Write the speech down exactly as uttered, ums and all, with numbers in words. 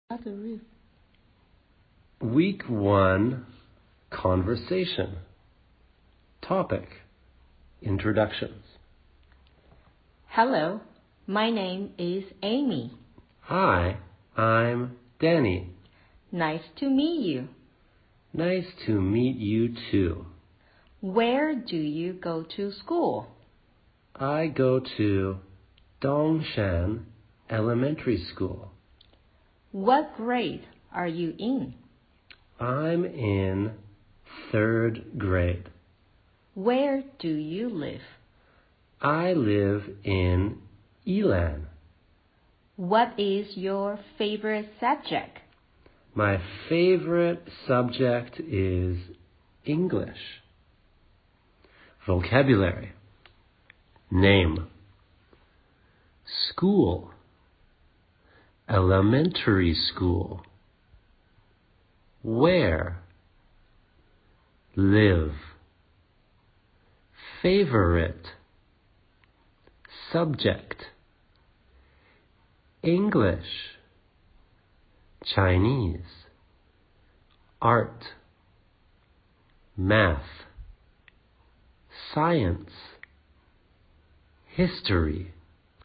Week one, conversation. Topic, introductions. Hello, my name is Amy. Hi, I'm Danny. Nice to meet you. Nice to meet you too. Where do you go to school? I go to Dongshan Elementary School. What grade are you in? I'm in third grade. Where do you live? I live in Yilan. What is your favorite subject? My favorite subject is English. Vocabulary. Name. School. Elementary school. Where? Live. Favorite. Subject. English. Chinese. Art. Math. Science. History.